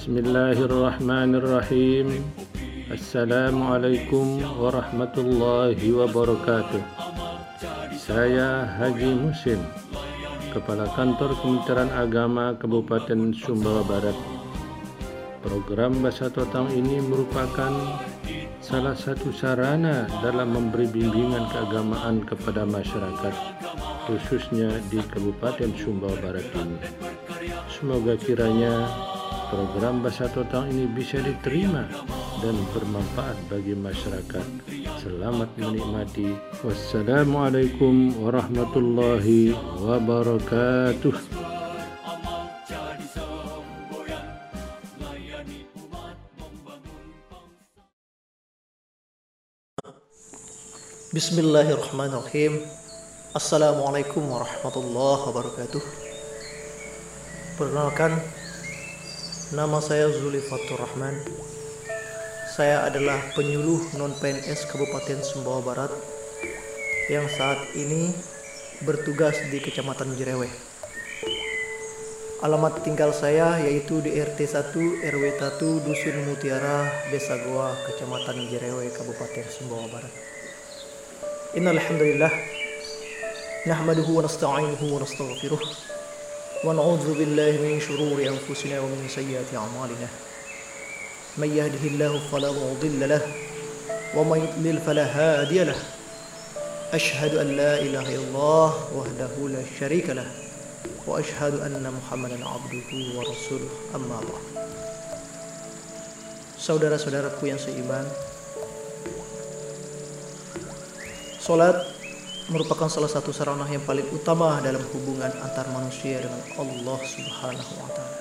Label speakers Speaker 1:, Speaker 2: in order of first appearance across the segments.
Speaker 1: Bismillahirrahmanirrahim. Assalamualaikum warahmatullahi wabarakatuh. Saya Haji Musin, Kepala Kantor Kementerian Agama Kabupaten Sumbawa Barat. Program Bahasa Totang ini merupakan salah satu sarana dalam memberi bimbingan keagamaan kepada masyarakat, khususnya di Kabupaten Sumbawa Barat ini. Semoga kiranya program Bahasa Totang ini bisa diterima dan bermanfaat bagi masyarakat. Selamat menikmati. Wassalamualaikum warahmatullahi wabarakatuh.
Speaker 2: Bismillahirrahmanirrahim. Assalamualaikum warahmatullahi wabarakatuh. Perkenalkan, nama saya Zulifatur Rahman. Saya adalah penyuluh non-PNS Kabupaten Sumbawa Barat yang saat ini bertugas di Kecamatan Jereweh. Alamat tinggal saya yaitu di RT 1 RW 1 Dusun Mutiara, Desa Goa, Kecamatan Jereweh, Kabupaten Sumbawa Barat. Innal hamdalillah nahmaduhu wa nasta'inuhu wa nastaghfiruh wa na'udzu billahi min shururi anfusina wa min sayyiati a'malina. May yahdihillahu fala mudilla lahu wa may yudlil fala hadiya lahu. Ashhadu an la ilaha illallah wahdahu la syarika lahu wa ashhadu anna Muhammadan 'abduhu wa rasuluh. Amma ba'd. Saudara-saudaraku yang seiman, salat merupakan salah satu sarana yang paling utama dalam hubungan antar manusia dengan Allah Subhanahu wa taala.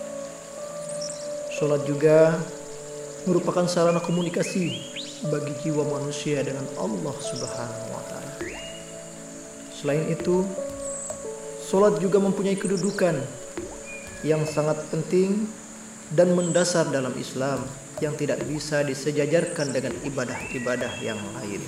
Speaker 2: Salat juga merupakan sarana komunikasi bagi jiwa manusia dengan Allah Subhanahu wa taala. Selain itu, salat juga mempunyai kedudukan yang sangat penting dan mendasar dalam Islam yang tidak bisa disejajarkan dengan ibadah-ibadah yang lain.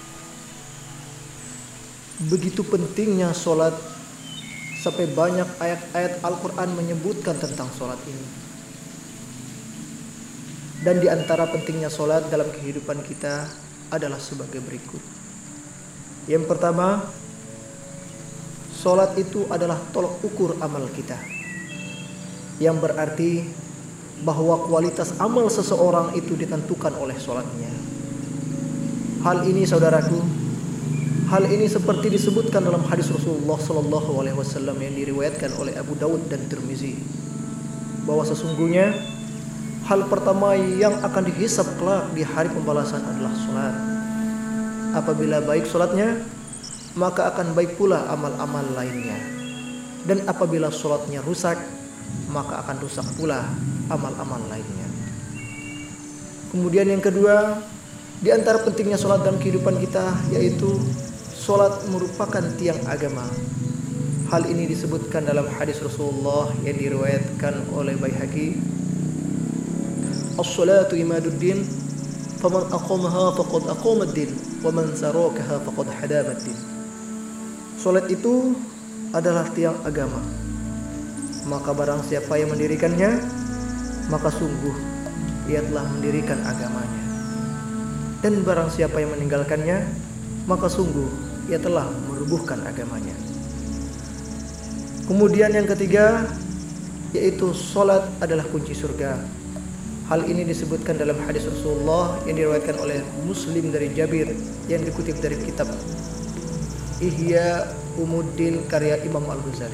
Speaker 2: Begitu pentingnya sholat sampai banyak ayat-ayat Al-Quran menyebutkan tentang sholat ini. Dan di antara pentingnya sholat dalam kehidupan kita adalah sebagai berikut. Yang pertama, sholat itu adalah tolok ukur amal kita, yang berarti bahwa kualitas amal seseorang itu ditentukan oleh sholatnya. Hal ini seperti disebutkan dalam hadis Rasulullah SAW yang diriwayatkan oleh Abu Daud dan Tirmizi, bahwa sesungguhnya hal pertama yang akan dihisab kelak di hari pembalasan adalah sholat. Apabila baik sholatnya, maka akan baik pula amal-amal lainnya. Dan apabila sholatnya rusak, maka akan rusak pula amal-amal lainnya. Kemudian yang kedua, di antara pentingnya sholat dalam kehidupan kita yaitu sholat merupakan tiang agama. Hal ini disebutkan dalam hadis Rasulullah yang diriwayatkan oleh Baihaqi. As-salatu imaduddin, faman aqamaha faqad aqamad-din, wa man sarakaha faqad hadamad-din. Salat itu adalah tiang agama. Maka barang siapa yang mendirikannya, maka sungguh ia telah mendirikan agamanya. Dan barang siapa yang meninggalkannya, maka sungguh ia telah merubuhkan agamanya. Kemudian yang ketiga, yaitu salat adalah kunci surga. Hal ini disebutkan dalam hadis Rasulullah yang diriwayatkan oleh Muslim dari Jabir yang dikutip dari kitab Ihya Umuddin karya Imam Al-Ghazali.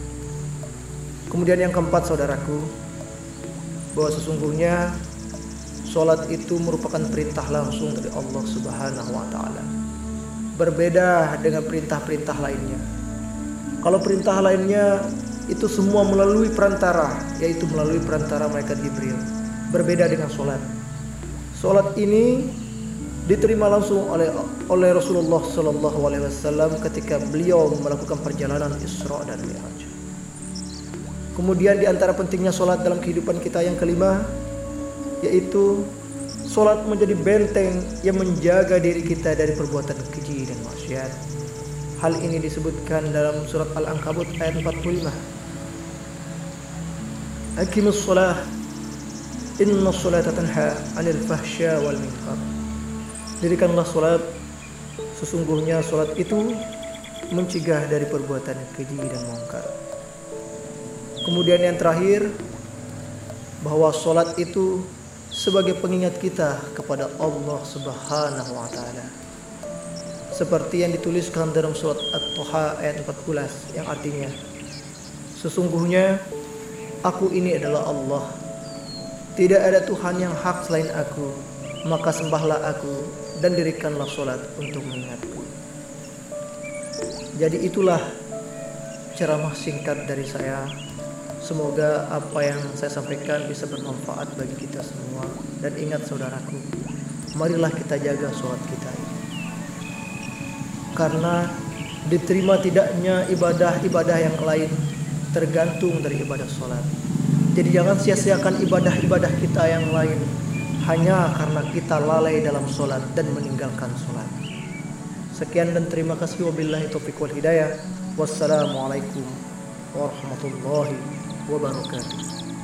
Speaker 2: Kemudian yang keempat, saudaraku, bahwa sesungguhnya salat itu merupakan perintah langsung dari Allah Subhanahu wa taala. Berbeda dengan perintah-perintah lainnya. Kalau perintah lainnya itu semua melalui perantara, yaitu melalui perantara malaikat Jibril. Berbeda dengan sholat. Sholat ini diterima langsung oleh Rasulullah SAW ketika beliau melakukan perjalanan Isra dan Mi'raj. Kemudian di antara pentingnya sholat dalam kehidupan kita yang kelima, yaitu sholat menjadi benteng yang menjaga diri kita dari perbuatan keji dan maksiat. Hal ini disebutkan dalam surat Al-Ankabut ayat 45. Aqimus shalah Inna sholata tanha 'anil fahsya wal munkar. Dirikanlah salat, sesungguhnya salat itu mencegah dari perbuatan keji dan mungkar. Kemudian yang terakhir, bahwa salat itu sebagai pengingat kita kepada Allah Subhanahu wa taala. Seperti yang dituliskan dalam surat At-Taha ayat 14 yang artinya, sesungguhnya aku ini adalah Allah. Tidak ada Tuhan yang hak selain aku, maka sembahlah aku dan dirikanlah salat untuk mengingatku. Jadi itulah ceramah singkat dari saya. Semoga apa yang saya sampaikan bisa bermanfaat bagi kita semua. Dan ingat saudaraku, marilah kita jaga sholat kita ini. Karena diterima tidaknya ibadah-ibadah yang lain tergantung dari ibadah sholat. Jadi jangan sia-siakan ibadah-ibadah kita yang lain hanya karena kita lalai dalam sholat dan meninggalkan sholat. Sekian dan terima kasih. Wabillahi taufiq wal hidayah. Wassalamualaikum warahmatullahi wabarakatuh.